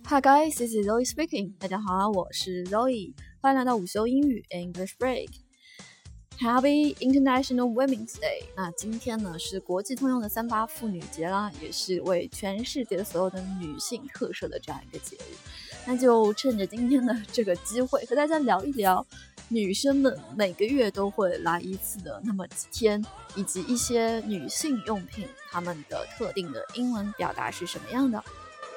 Hi guys, this is Zoe speaking. 大家好，我是 Zoe， 欢迎来到午休英语 English Break。Happy International Women's Day。那今天呢是国际通用的3·8妇女节啦，也是为全世界所有的女性特设的这样一个节日。那就趁着今天的这个机会，和大家聊一聊女生们每个月都会来一次的那么几天，以及一些女性用品它们的特定的英文表达是什么样的。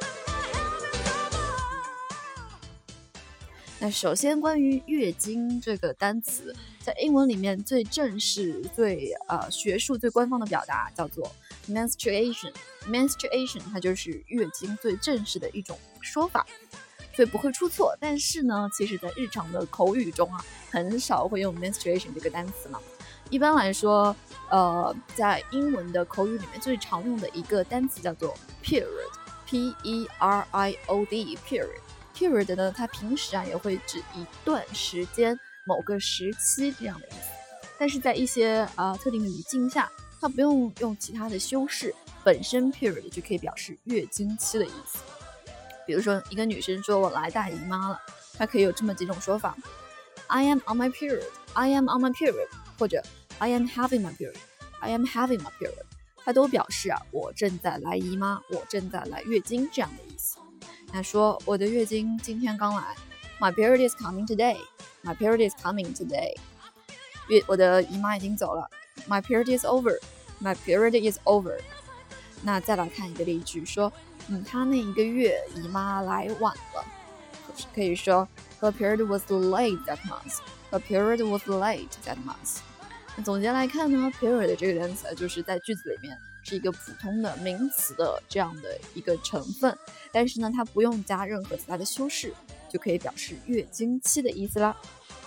那首先关于月经这个单词，在英文里面最正式、最学术、最官方的表达叫做 menstruation。menstruation 它就是月经最正式的一种说法，所以不会出错。但是呢，其实在日常的口语中很少会用 menstruation 这个单词嘛。一般来说，在英文的口语里面最常用的一个单词叫做 period。period 呢，它平时也会指一段时间、某个时期这样的意思，但是在一些特定的语境下，它不用其他的修饰，本身 period 就可以表示月经期的意思。比如说，一个女生说我来大姨妈了，她可以有这么几种说法 ：I am on my period， I am on my period， 或者 I am having my period， I am having my period， 它都表示我正在来姨妈，我正在来月经这样的意思。那说我的月经今天刚来 My period is coming today. My period is coming today. 我的姨妈已经走了 My period is over. My period is over. 那再来看一个例句，说她那一个月姨妈来晚了，可以说 Her period was late that month. Her period was late that month. 那总结来看呢 period 这个单词就是在句子里面是一个普通的名词的这样的一个成分，但是呢，它不用加任何其他的修饰，就可以表示月经期的意思啦。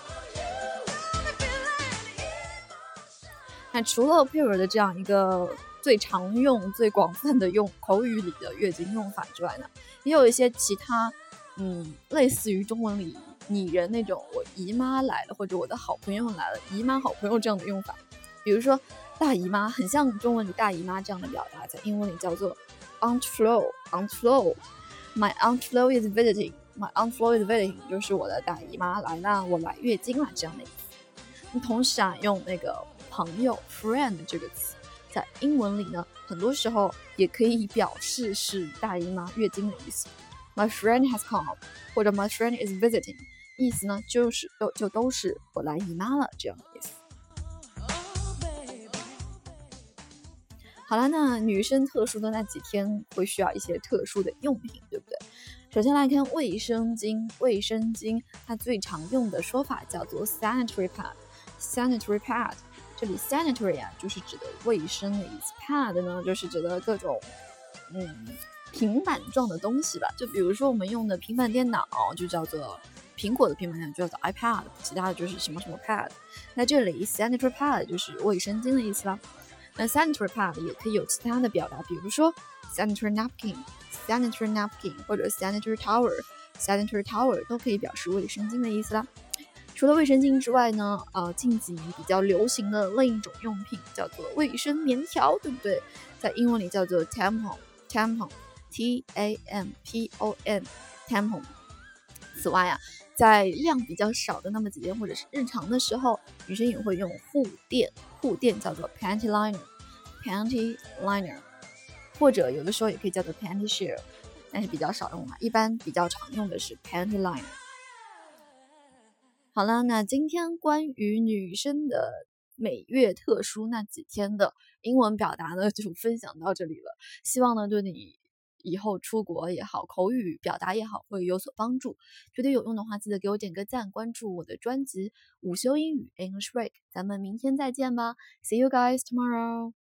那除了 period 的这样一个最常用、最广泛的用口语里的月经用法之外呢，也有一些其他类似于中文里拟人那种我姨妈来了或者我的好朋友来了，姨妈好朋友这样的用法。比如说大姨妈，很像中文里大姨妈这样的表达，在英文里叫做 Aunt Flo。Aunt Flo，My Aunt Flo is visiting. My Aunt Flo is visiting， 就是我的大姨妈来了，我来月经了这样的意思。同时用那个朋友 friend 这个词，在英文里呢，很多时候也可以表示是大姨妈月经的意思。My friend has come， 或者 My friend is visiting， 意思呢就都是我来姨妈了这样的意思。好了，那女生特殊的那几天会需要一些特殊的用品，对不对？首先来看卫生巾，卫生巾它最常用的说法叫做 sanitary pad。sanitary pad， 这里 sanitary 就是指的卫生的意思 ，pad 呢就是指的各种平板状的东西吧。就比如说我们用的平板电脑就叫做苹果的平板电脑就叫做 iPad， 其他的就是什么什么 pad。那这里 sanitary pad 就是卫生巾的意思啦。那 sanitary pad 也可以有其他的表达，比如说 sanitary napkin 或者 sanitary towel 都可以表示卫生巾的意思啦。除了卫生巾之外呢，近几年比较流行的另一种用品叫做卫生棉条，对不对？在英文里叫做 tampon T-A-M-P-O-N tampon。此外在量比较少的那么几天或者是日常的时候，女生也会用护垫叫做 panty liner， 或者有的时候也可以叫做 panty sheer， 但是比较少用一般比较常用的是 panty liner。 好了，那今天关于女生的每月特殊那几天的英文表达呢，就分享到这里了。希望呢对你以后出国也好，口语表达也好，会有所帮助。觉得有用的话，记得给我点个赞，关注我的专辑午休英语 English Break。咱们明天再见吧 ，See you guys tomorrow。